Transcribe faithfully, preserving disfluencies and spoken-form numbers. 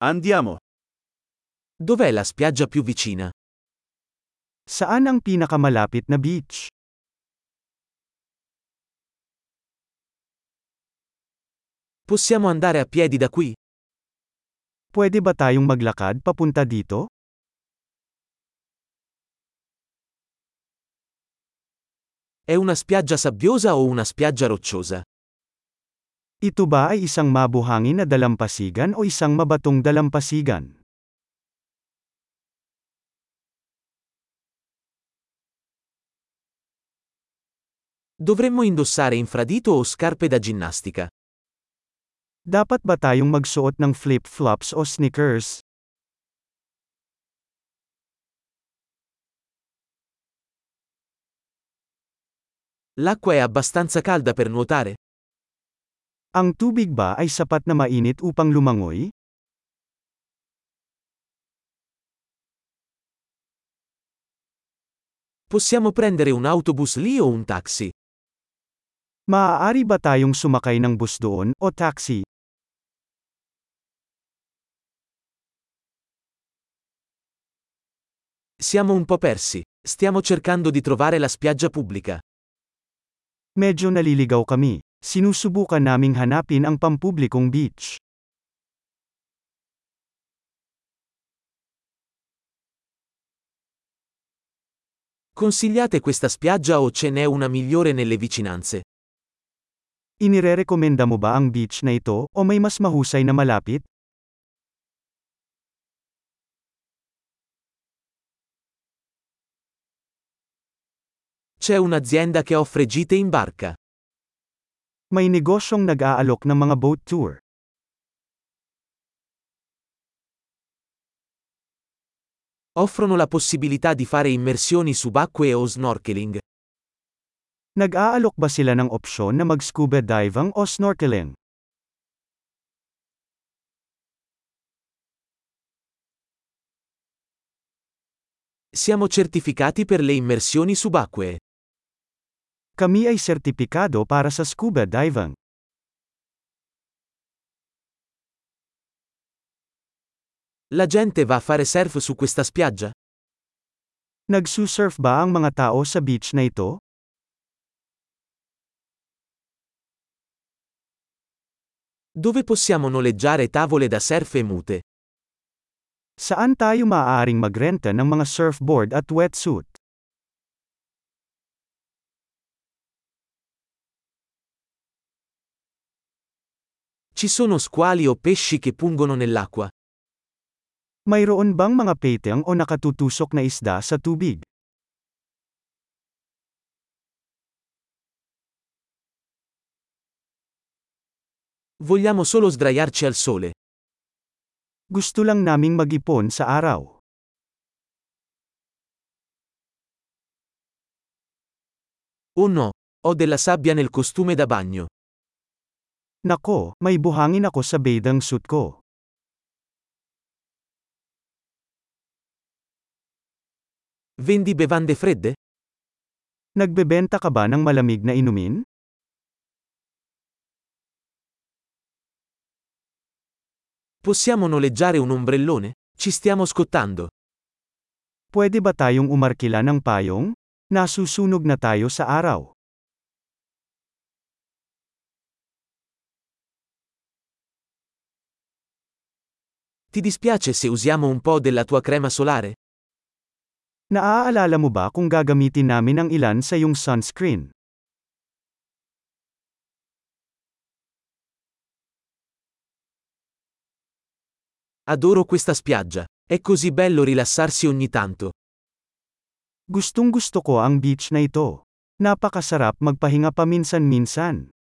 Andiamo. Dov'è la spiaggia più vicina? Saan ang pinakamalapit na beach? Possiamo andare a piedi da qui? Pwede ba tayong maglakad papunta dito? È una spiaggia sabbiosa o una spiaggia rocciosa? Ito ba ay isang mabuhangin na dalampasigan o isang mabatong dalampasigan? Dovremmo indossare infradito o scarpe da ginnastica? Dapat ba tayong magsuot ng flip-flops o sneakers? L'acqua è abbastanza calda per nuotare? Ang tubig ba ay sapat na mainit upang lumangoy? Possiamo prendere un autobus lì o un taxi? Maaari ba tayong sumakay ng bus doon, o taxi? Siamo un po' persi. Stiamo cercando di trovare la spiaggia pubblica. Medyo naliligaw kami. Sinusubukan naming hanapin ang pampublikong beach. Consigliate questa spiaggia o ce n'è una migliore nelle vicinanze? Inirerekomenda mo ba ang beach na ito, o may mas mahusay na malapit? C'è un'azienda che offre gite in barca. May negosyong nag-aalok ng mga boat tour. Offrono la possibilità di fare immersioni subacquee o snorkeling. Nag-aalok ba sila ng opsyon na mag-scuba diving o snorkeling? Siamo certificati per le immersioni subacquee. Kami ay sertipikado para sa scuba diving. La gente va a fare surf su questa spiaggia? Nagsusurf ba ang mga tao sa beach na ito? Dove possiamo noleggiare tavole da surf e mute? Saan tayo maaaring magrenta ng mga surfboard at wetsuit? Ci sono squali o pesci che pungono nell'acqua? Mayroon bang mga peteng o nakatutusok na isda sa tubig? Vogliamo solo sdraiarci al sole. Gusto lang naming mag-ipon sa araw. Oh no, ho della sabbia nel costume da bagno. Nako, may buhangin ako sa bathing suit ko. Vendi bevande fredde? Nagbebenta ka ba ng malamig na inumin? Possiamo noleggiare un ombrellone? Ci stiamo scottando. Pwede ba tayong umarkila ng payong? Nasusunog na tayo sa araw. Ti dispiace se usiamo un po' della tua crema solare? Naaalala mo ba kung gagamitin namin ang ilan sa iyong sunscreen? Adoro questa spiaggia. È così bello rilassarsi ogni tanto. Gustong gusto ko ang beach na ito. Napakasarap magpahinga paminsan-minsan.